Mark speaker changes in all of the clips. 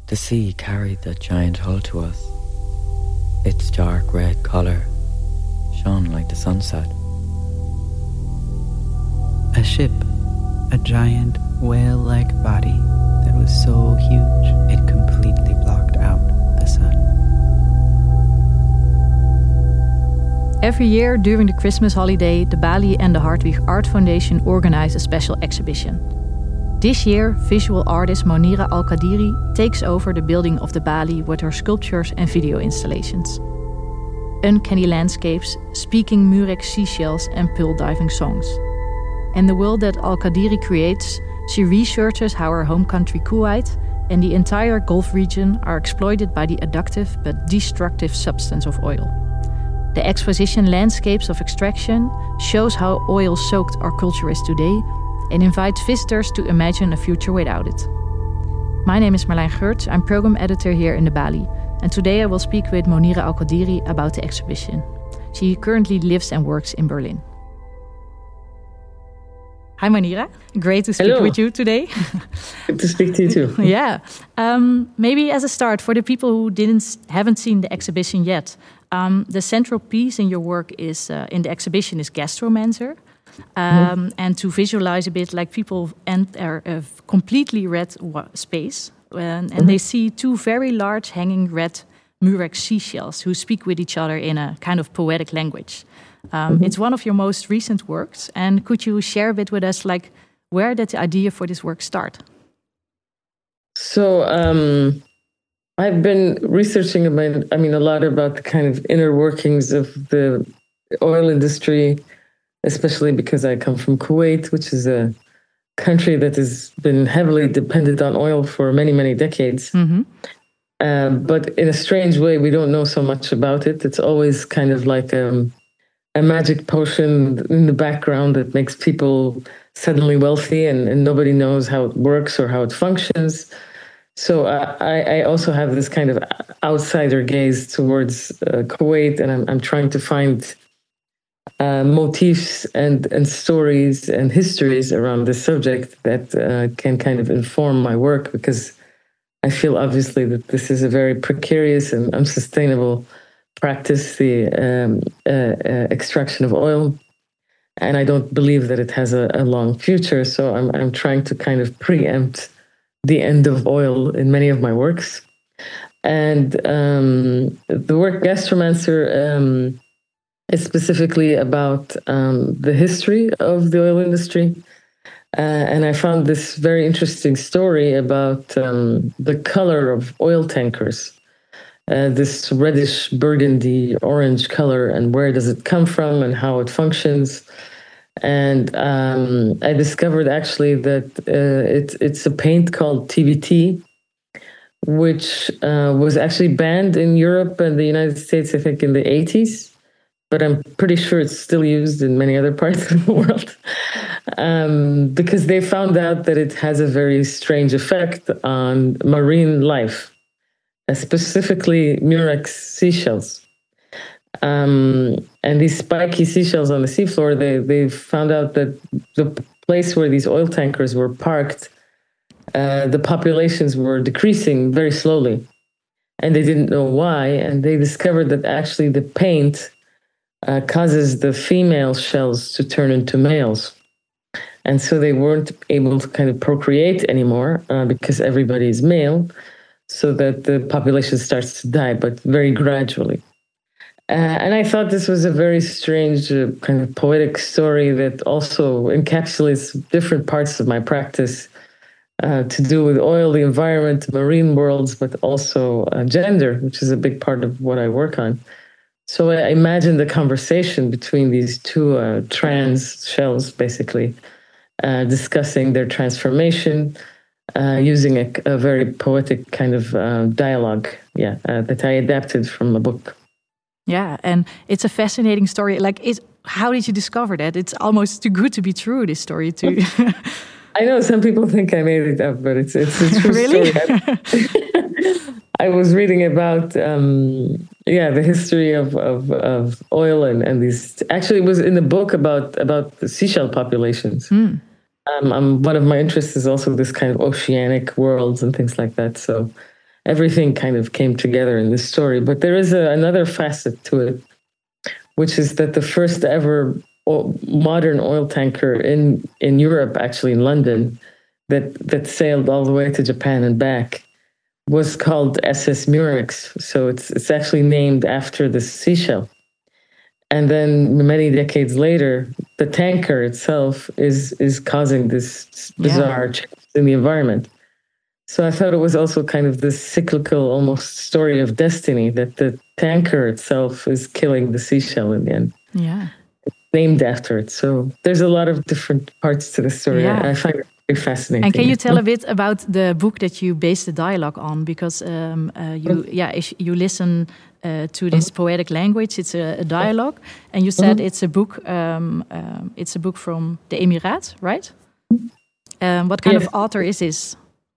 Speaker 1: The sea carried that giant hull to us. Its dark red colour shone like the sunset.
Speaker 2: A ship, a giant whale-like body that was so huge it completely blocked out the sun.
Speaker 3: Every year during the Christmas holiday, the Bali and the Hartwig Art Foundation organize a special exhibition. This year, visual artist Monira Al-Qadiri takes over the building of the Bali with her sculptures and video installations. Uncanny landscapes, speaking Murex seashells and pearl diving songs. And the world that Al-Qadiri creates, she researches how her home country Kuwait and the entire Gulf region are exploited by the addictive but destructive substance of oil. The exposition Landscapes of Extraction shows how oil-soaked our culture is today and invites visitors to imagine a future without it. My name is Marlijn Geurts, I'm program editor here in the Bali, and today I will speak with Monira Al-Qadiri about the exhibition. She currently lives and works in Berlin. Hi Monira, great to speak with you today.
Speaker 4: Good to speak to you too.
Speaker 3: Yeah, maybe as a start, for the people who haven't seen the exhibition yet, the central piece in your work is in the exhibition is Gastromancer. And to visualize a bit, like people enter a completely red space and they see two very large hanging red Murex seashells who speak with each other in a kind of poetic language. It's one of your most recent works, and could you share a bit with us, like, where did the idea for this work start?
Speaker 4: So I've been researching a lot about the kind of inner workings of the oil industry, especially because I come from Kuwait, which is a country that has been heavily dependent on oil for many, many decades. But in a strange way, we don't know so much about it. It's always kind of like a magic potion in the background that makes people suddenly wealthy, and nobody knows how it works or how it functions. So I also have this kind of outsider gaze towards Kuwait, and I'm trying to find motifs and stories and histories around this subject that can kind of inform my work, because I feel obviously that this is a very precarious and unsustainable practice, the extraction of oil, and I don't believe that it has a long future. So I'm trying to kind of preempt the end of oil in many of my works. And the work Gastromancer is specifically about the history of the oil industry. And I found this very interesting story about the color of oil tankers. This reddish burgundy orange color, and where does it come from and how it functions. And I discovered actually that it's a paint called TBT, which was actually banned in Europe and the United States, I think, in the 80s. But I'm pretty sure it's still used in many other parts of the world, because they found out that it has a very strange effect on marine life, specifically Murex seashells. And these spiky seashells on the seafloor, they found out that the place where these oil tankers were parked, the populations were decreasing very slowly. And they didn't know why. And they discovered that actually the paint causes the female shells to turn into males. And so they weren't able to kind of procreate anymore because everybody is male, so that the population starts to die, but very gradually. And I thought this was a very strange kind of poetic story that also encapsulates different parts of my practice to do with oil, the environment, marine worlds, but also gender, which is a big part of what I work on. So I imagined the conversation between these two trans shells, basically, discussing their transformation, using a very poetic kind of dialogue, that I adapted from a book.
Speaker 3: Yeah, and it's a fascinating story. Like, how did you discover that? It's almost too good to be true, this story, too.
Speaker 4: I know some people think I made it up, but it's a true
Speaker 3: really?
Speaker 4: story. I was reading about the history of oil and these. Actually, it was in a book about the seashell populations. One of my interests is also this kind of oceanic worlds and things like that. So, everything kind of came together in this story. But there is another facet to it, which is that the first ever modern oil tanker in Europe, actually in London, that sailed all the way to Japan and back, was called SS Murex. So it's actually named after the seashell. And then many decades later, the tanker itself is causing this bizarre change in the environment. So I thought it was also kind of this cyclical, almost story of destiny, that the tanker itself is killing the seashell in the end.
Speaker 3: Yeah.
Speaker 4: It's named after it. So there's a lot of different parts to the story.
Speaker 3: Yeah.
Speaker 4: I find it very fascinating.
Speaker 3: And can you tell a bit about the book that you based the dialogue on? Because if you listen to this poetic language, it's a dialogue, and you said it's a book. It's a book from the Emirates, right? What kind of author is this?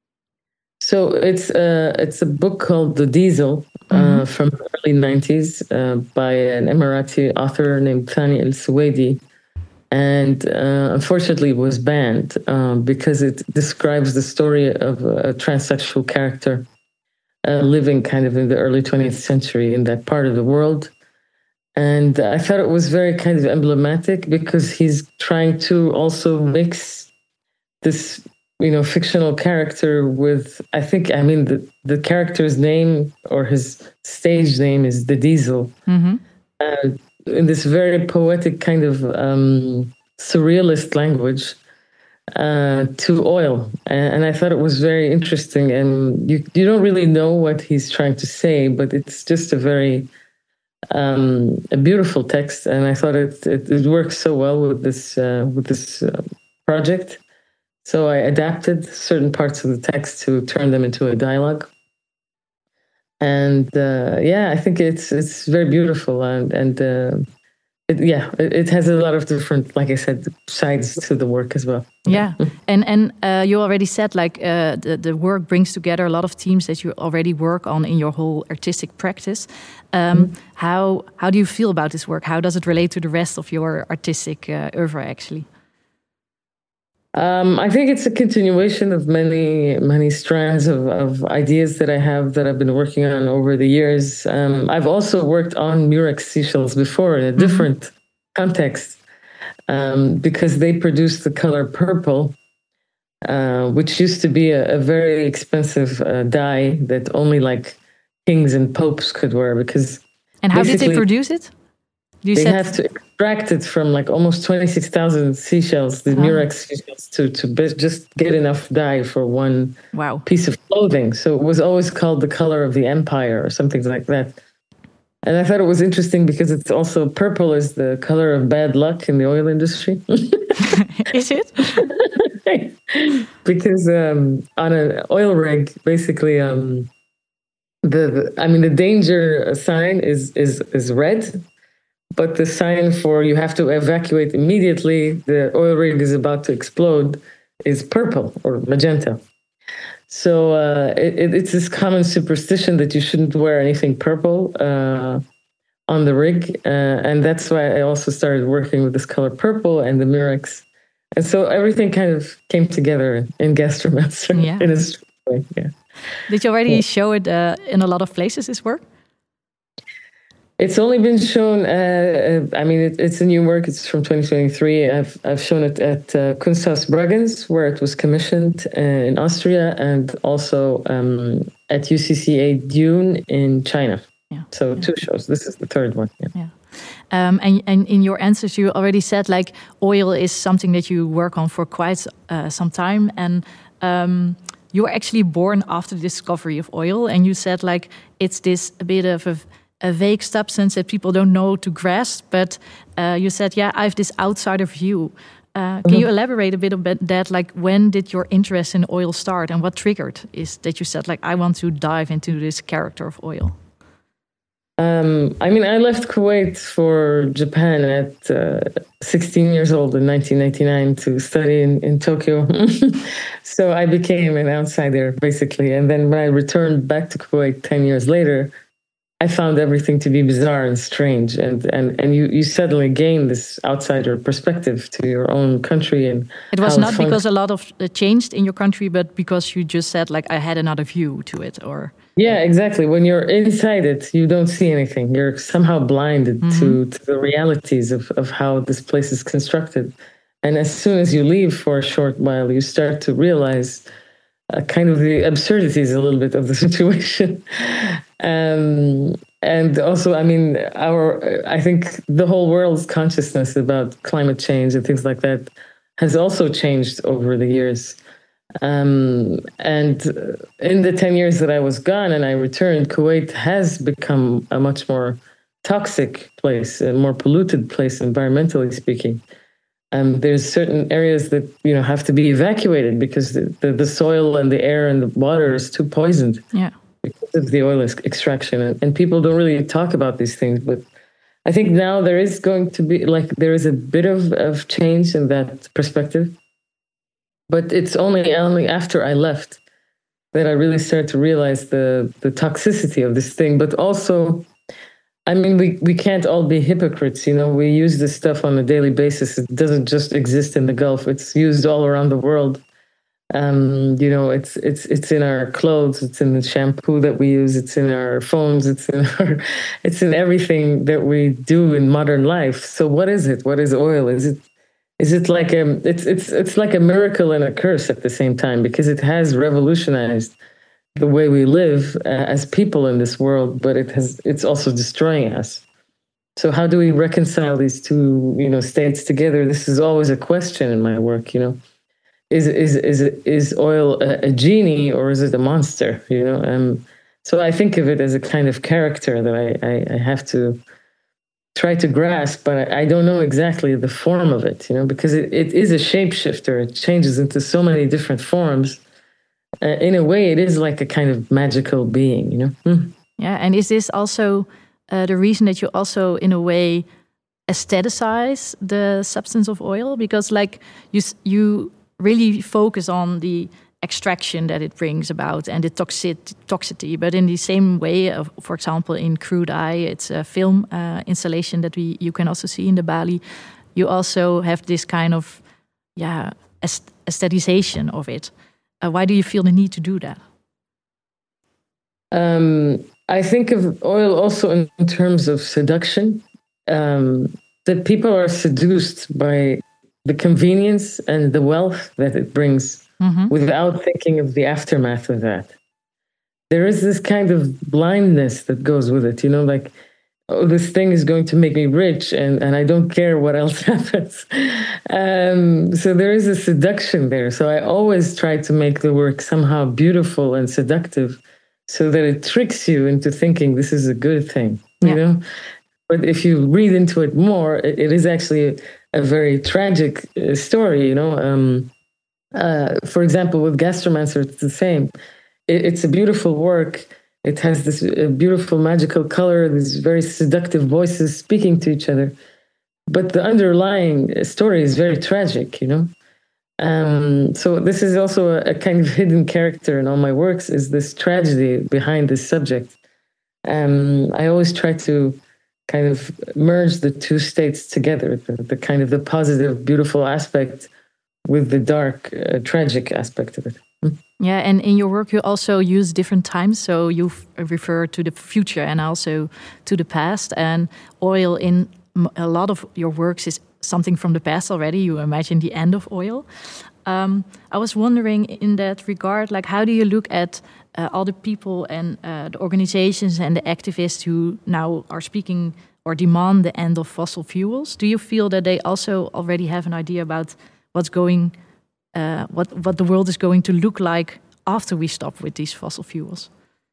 Speaker 4: So it's a book called The Diesel from the early 90s by an Emirati author named Thani El-Suwaidi. And unfortunately, it was banned because it describes the story of a transsexual character living kind of in the early 20th century in that part of the world. And I thought it was very kind of emblematic because he's trying to also mix this, fictional character with, the character's name or his stage name is The Diesel. Mm-hmm. In this very poetic kind of surrealist language to oil. And I thought it was very interesting. And you don't really know what he's trying to say, but it's just a very a beautiful text. And I thought it works so well with this project. So I adapted certain parts of the text to turn them into a dialogue. And I think it's very beautiful, and it has a lot of different, like I said, sides to the work as well.
Speaker 3: Yeah, and you already said the work brings together a lot of themes that you already work on in your whole artistic practice. How do you feel about this work? How does it relate to the rest of your artistic oeuvre, actually?
Speaker 4: I think it's a continuation of many strands of ideas that I've been working on over the years. I've also worked on Murex seashells before in a different context because they produce the color purple, which used to be a very expensive dye that only like kings and popes could wear.
Speaker 3: And how did they produce it?
Speaker 4: They have to extract it from like almost 26,000 seashells, the Murex seashells, to just get enough dye for one piece of clothing. So it was always called the color of the empire or something like that. And I thought it was interesting because it's also purple is the color of bad luck in the oil industry.
Speaker 3: Is it?
Speaker 4: Because on an oil rig, basically, the danger sign is red. But the sign for you have to evacuate immediately, the oil rig is about to explode, is purple or magenta. So it's this common superstition that you shouldn't wear anything purple on the rig. And that's why I also started working with this color purple and the Murex. And so everything kind of came together in Gastromancer in a strange way. Yeah.
Speaker 3: Did you already show it in a lot of places, this work?
Speaker 4: It's only been shown. It's a new work. It's from 2023. I've shown it at Kunsthaus Bregenz, where it was commissioned in Austria, and also at UCCA Dune in China. Yeah. So 2 shows. This is the 3rd one. Yeah.
Speaker 3: And in your answers, you already said oil is something that you work on for quite some time, and you were actually born after the discovery of oil, and you said it's this a bit of a vague substance that people don't know to grasp, but you said, I have this outsider view. Can you elaborate a bit on that? When did your interest in oil start, and what triggered is that you said, I want to dive into this character of oil?
Speaker 4: I left Kuwait for Japan at 16 years old in 1999 to study in Tokyo. So I became an outsider, basically. And then when I returned back to Kuwait 10 years later, I found everything to be bizarre and strange, and you suddenly gain this outsider perspective to your own country. And
Speaker 3: it was not because a lot of changed in your country, but because you just said like I had another view to it, or
Speaker 4: yeah, exactly. When you're inside it, you don't see anything. You're somehow blinded to the realities of how this place is constructed. And as soon as you leave for a short while, you start to realize kind of the absurdities a little bit of the situation. And also, I mean, I think the whole world's consciousness about climate change and things like that has also changed over the years. And in the 10 years that I was gone and I returned, Kuwait has become a much more toxic place, a more polluted place, environmentally speaking. There's certain areas that have to be evacuated because the soil and the air and the water is too poisoned because of the oil extraction. And people don't really talk about these things. But I think now there is going to be, there is a bit of change in that perspective. But it's only after I left that I really started to realize the toxicity of this thing. But also, I mean, we can't all be hypocrites. We use this stuff on a daily basis. It doesn't just exist in the Gulf. It's used all around the world. It's in our clothes. It's in the shampoo that we use. It's in our phones. It's in everything that we do in modern life. So what is it? What is oil? Is it like it's like a miracle and a curse at the same time, because it has revolutionized the way we live as people in this world, but it's also destroying us. So how do we reconcile these two, states together? This is always a question in my work. Is oil a genie or is it a monster? So I think of it as a kind of character that I have to try to grasp, but I don't know exactly the form of it, because it is a shapeshifter. It changes into so many different forms. In a way, it is like a kind of magical being,
Speaker 3: Yeah, and is this also the reason that you also, in a way, aestheticize the substance of oil? Because, you really focus on the extraction that it brings about and the toxicity. But in the same way, for example, in Crude Eye, it's a film installation that you can also see in the Bali. You also have this kind of aestheticization of it. Why do you feel the need to do that?
Speaker 4: I think of oil also in terms of seduction, that people are seduced by the convenience and the wealth that it brings without thinking of the aftermath of that. There is this kind of blindness that goes with it, this thing is going to make me rich and I don't care what else happens. So there is a seduction there. So I always try to make the work somehow beautiful and seductive so that it tricks you into thinking this is a good thing, But if you read into it more, it is actually a very tragic story, For example, with Gastromancer, it's the same. It's a beautiful work. It has this beautiful magical color, these very seductive voices speaking to each other. But the underlying story is very tragic, So this is also a kind of hidden character in all my works, is this tragedy behind this subject. I always try to kind of merge the two states together, the kind of the positive, beautiful aspect with the dark, tragic aspect of it.
Speaker 3: Yeah, and in your work you also use different times. So you refer to the future and also to the past. And oil in a lot of your works is something from the past already. You imagine the end of oil. I was wondering in that regard, how do you look at all the people and the organizations and the activists who now are speaking or demand the end of fossil fuels? Do you feel that they also already have an idea about what's going, what the world is going to look like after we stop with these fossil fuels?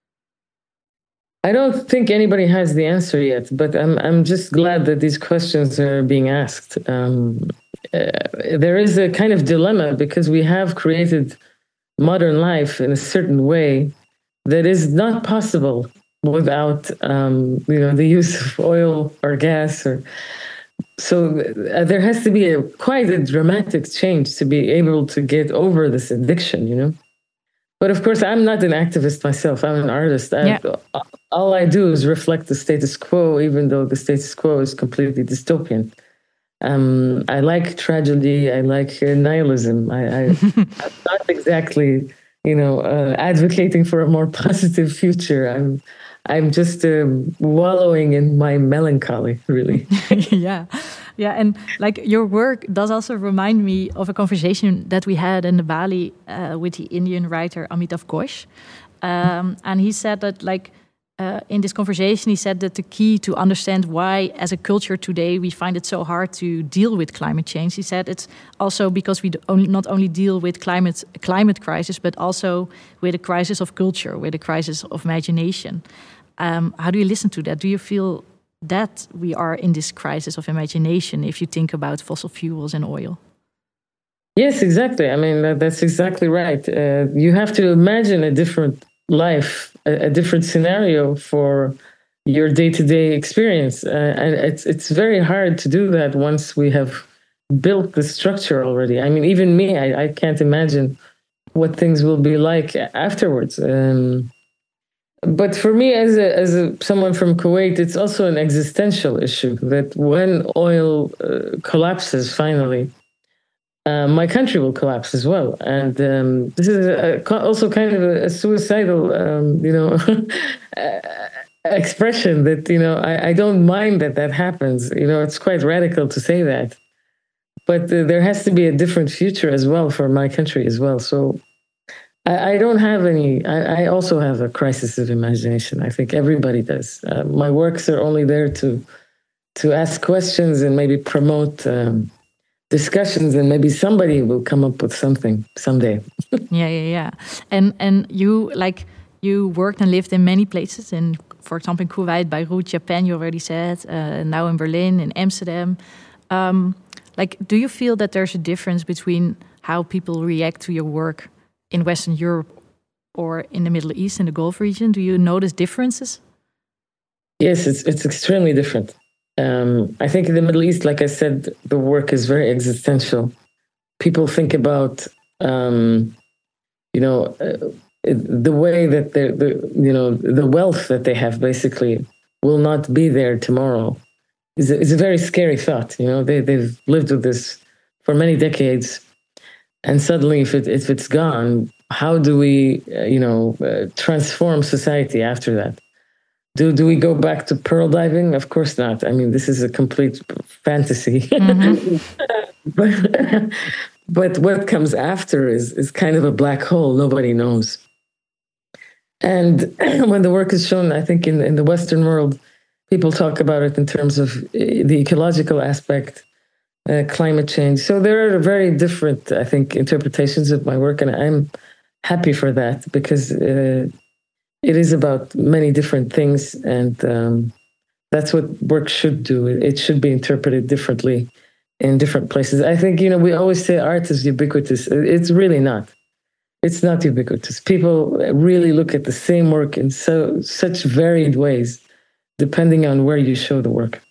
Speaker 4: I don't think anybody has the answer yet, but I'm just glad that these questions are being asked. There is a kind of dilemma because we have created modern life in a certain way that is not possible without the use of oil or gas. So there has to be quite a dramatic change to be able to get over this addiction, But of course, I'm not an activist myself. I'm an artist. All I do is reflect the status quo, even though the status quo is completely dystopian. I like tragedy. I like nihilism. I'm not exactly, advocating for a more positive future. I'm just wallowing in my melancholy, really.
Speaker 3: Yeah. Yeah, and like your work does also remind me of a conversation that we had in the Bali with the Indian writer Amitav Ghosh. And he said that in this conversation, he said that the key to understand why as a culture today we find it so hard to deal with climate change, he said it's also because we not only deal with climate crisis, but also with a crisis of culture, with a crisis of imagination. How do you listen to that? Do you feel that we are in this crisis of imagination if you think about fossil fuels and oil?
Speaker 4: Yes, exactly. I mean, that's exactly right. You have to imagine a different life, a different scenario for your day-to-day experience. And it's very hard to do that once we have built the structure already. I mean, even me, I can't imagine what things will be like afterwards. But for me, as someone from Kuwait, it's also an existential issue that when oil collapses finally, my country will collapse as well. And this is also kind of a suicidal, expression that, I don't mind that happens. It's quite radical to say that. But there has to be a different future as well for my country as well. So I don't have any. I also have a crisis of imagination. I think everybody does. My works are only there to ask questions and maybe promote discussions, and maybe somebody will come up with something someday.
Speaker 3: Yeah. And you worked and lived in many places. In, for example, in Kuwait, Beirut, Japan. You already said. Now in Berlin, in Amsterdam. Do you feel that there's a difference between how people react to your work in Western Europe or in the Middle East, in the Gulf region? Do you notice differences?
Speaker 4: Yes, it's extremely different. I think in the Middle East, like I said, the work is very existential. People think about, the way that the wealth that they have basically will not be there tomorrow. Is a very scary thought. They've lived with this for many decades. And suddenly, if it's gone, how do we, transform society after that? Do we go back to pearl diving? Of course not. I mean, this is a complete fantasy. Mm-hmm. but what comes after is kind of a black hole. Nobody knows. And when the work is shown, I think in the Western world, people talk about it in terms of the ecological aspect. Climate change. So there are very different, I think, interpretations of my work, and I'm happy for that because it is about many different things, and that's what work should do. It should be interpreted differently in different places. I think, we always say art is ubiquitous. It's really not. It's not ubiquitous. People really look at the same work in such varied ways, depending on where you show the work.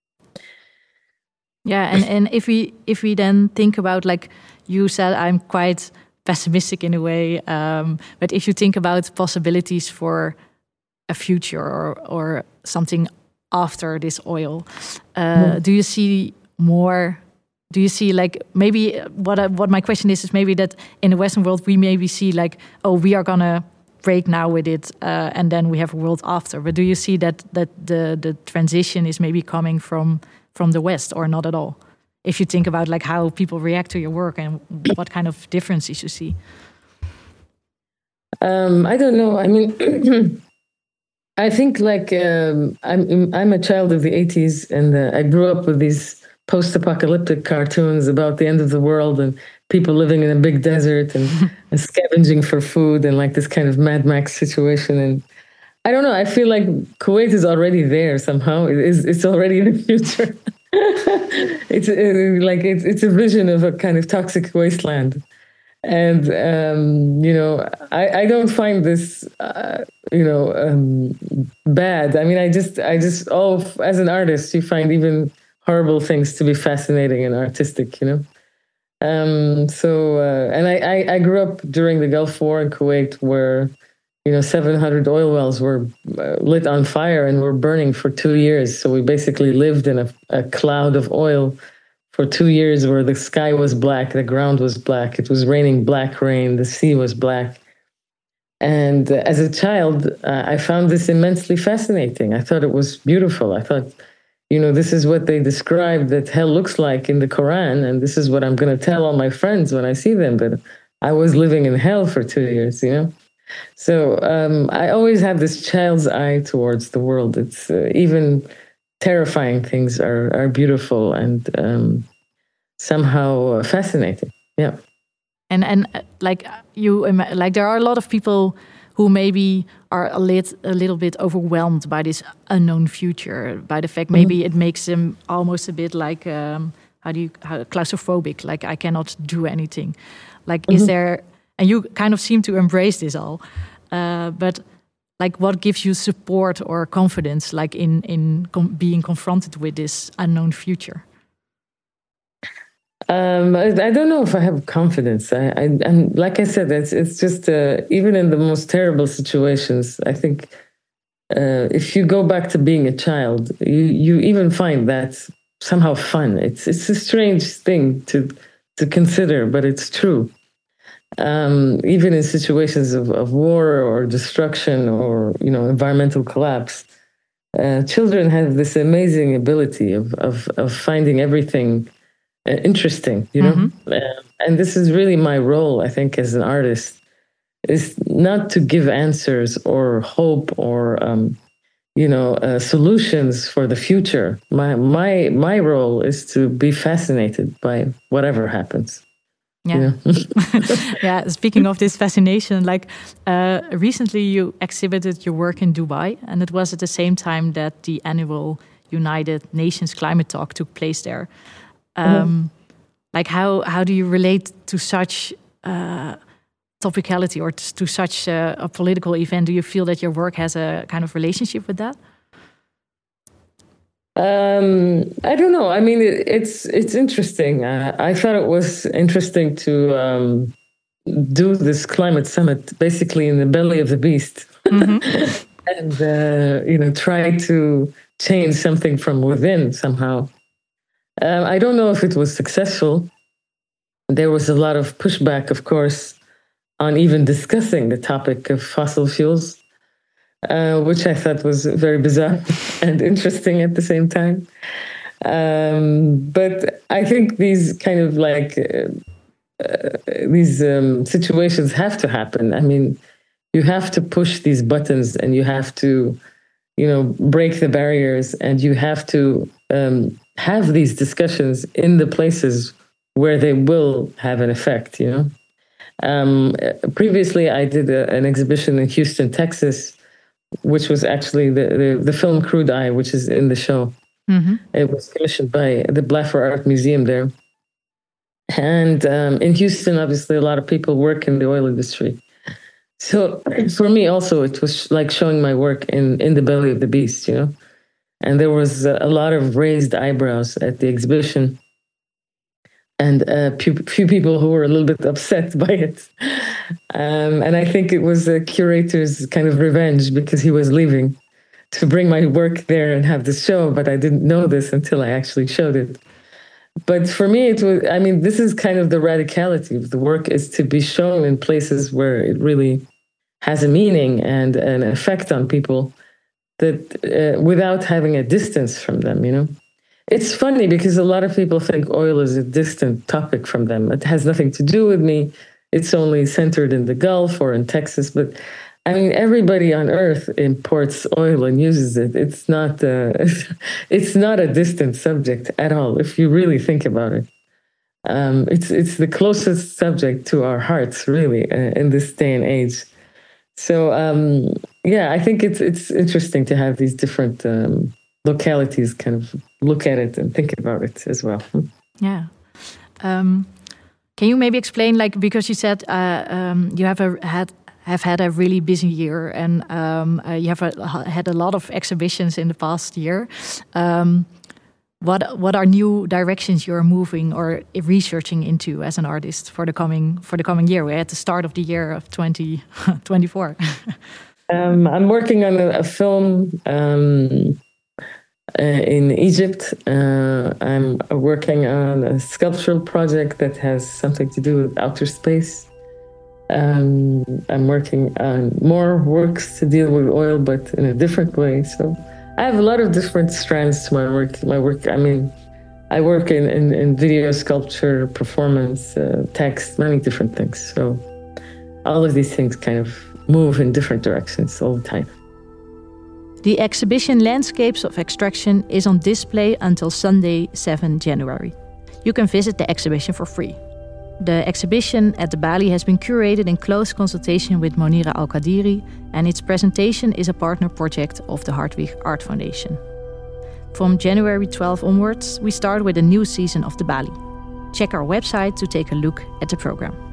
Speaker 3: Yeah, and if we then think about, like you said, I'm quite pessimistic in a way, but if you think about possibilities for a future or something after this oil, do you see more? Do you see maybe what my question is maybe that in the Western world we maybe see we are gonna break now with it, and then we have a world after. But do you see that the transition is maybe coming from the West or not at all? If you think about how people react to your work and what kind of differences you see.
Speaker 4: I don't know. I mean, I think I'm a child of the 80s, and I grew up with these post-apocalyptic cartoons about the end of the world and people living in a big desert and scavenging for food and this kind of Mad Max situation. And I don't know. I feel like Kuwait is already there somehow. It's already in the future. It's a vision of a kind of toxic wasteland, and I don't find this bad. I mean, I just as an artist, you find even horrible things to be fascinating and artistic. And I grew up during the Gulf War in Kuwait, where 700 oil wells were lit on fire and were burning for 2 years. So we basically lived in a cloud of oil for 2 years, where the sky was black, the ground was black, it was raining black rain, the sea was black. And as a child, I found this immensely fascinating. I thought it was beautiful. I thought, this is what they describe that hell looks like in the Quran, and this is what I'm going to tell all my friends when I see them. But I was living in hell for 2 years, So I always had this child's eye towards the world. It's even terrifying things are beautiful and somehow fascinating. Yeah.
Speaker 3: And there are a lot of people who maybe are a little bit overwhelmed by this unknown future, by the fact maybe it makes them almost a bit like claustrophobic, like I cannot do anything. Is there, and you kind of seem to embrace this all, but what gives you support or confidence, in being confronted with this unknown future?
Speaker 4: I don't know if I have confidence. And like I said, it's just even in the most terrible situations, I think if you go back to being a child, you even find that somehow fun. It's a strange thing to consider, but it's true. Even in situations of war or destruction or environmental collapse, children have this amazing ability of finding everything interesting, and this is really my role, I think, as an artist, is not to give answers or hope or solutions for the future. My role is to be fascinated by whatever happens.
Speaker 3: Yeah. Yeah. Speaking of this fascination, recently you exhibited your work in Dubai, and it was at the same time that the annual United Nations Climate Talk took place there. How do you relate to such topicality or to such a political event? Do you feel that your work has a kind of relationship with that?
Speaker 4: I don't know. I mean, it's interesting. I thought it was interesting to do this climate summit basically in the belly of the beast, and try to change something from within somehow. I don't know if it was successful. There was a lot of pushback, of course, on even discussing the topic of fossil fuels, which I thought was very bizarre and interesting at the same time. But I think these kind of situations have to happen. I mean, you have to push these buttons, and you have to, break the barriers, and you have to have these discussions in the places where they will have an effect, Previously, I did an exhibition in Houston, Texas, which was actually the film Crude Eye, which is in the show. It was commissioned by the Blaffer Art Museum there. And in Houston, obviously, a lot of people work in the oil industry. So for me also, it was like showing my work in the belly of the beast, And there was a lot of raised eyebrows at the exhibition, and a few people who were a little bit upset by it. And I think it was a curator's kind of revenge, because he was leaving to bring my work there and have the show, but I didn't know this until I actually showed it. But for me, this is kind of the radicality of the work, is to be shown in places where it really has a meaning and an effect on people, that without having a distance from them, It's funny because a lot of people think oil is a distant topic from them. It has nothing to do with me. It's only centered in the Gulf or in Texas. But everybody on Earth imports oil and uses it. It's not a distant subject at all, if you really think about it. It's the closest subject to our hearts, really, in this day and age. So, I think it's interesting to have these different localities kind of look at it and think about it as well.
Speaker 3: Yeah. Can you maybe explain, because you said you have had a really busy year, and you have had a lot of exhibitions in the past year. what are new directions you're moving or researching into as an artist for the coming year? We're at the start of the year of 2024.
Speaker 4: I'm working on a film in Egypt. I'm working on a sculptural project that has something to do with outer space. I'm working on more works to deal with oil, but in a different way. So I have a lot of different strands to my work. I mean, I work in video sculpture, performance, text, many different things. So all of these things kind of move in different directions all the time.
Speaker 3: The exhibition Landscapes of Extraction is on display until Sunday, 7 January. You can visit the exhibition for free. The exhibition at the Bali has been curated in close consultation with Monira Al-Qadiri, and its presentation is a partner project of the Hartwig Art Foundation. From January 12 onwards, we start with a new season of the Bali. Check our website to take a look at the program.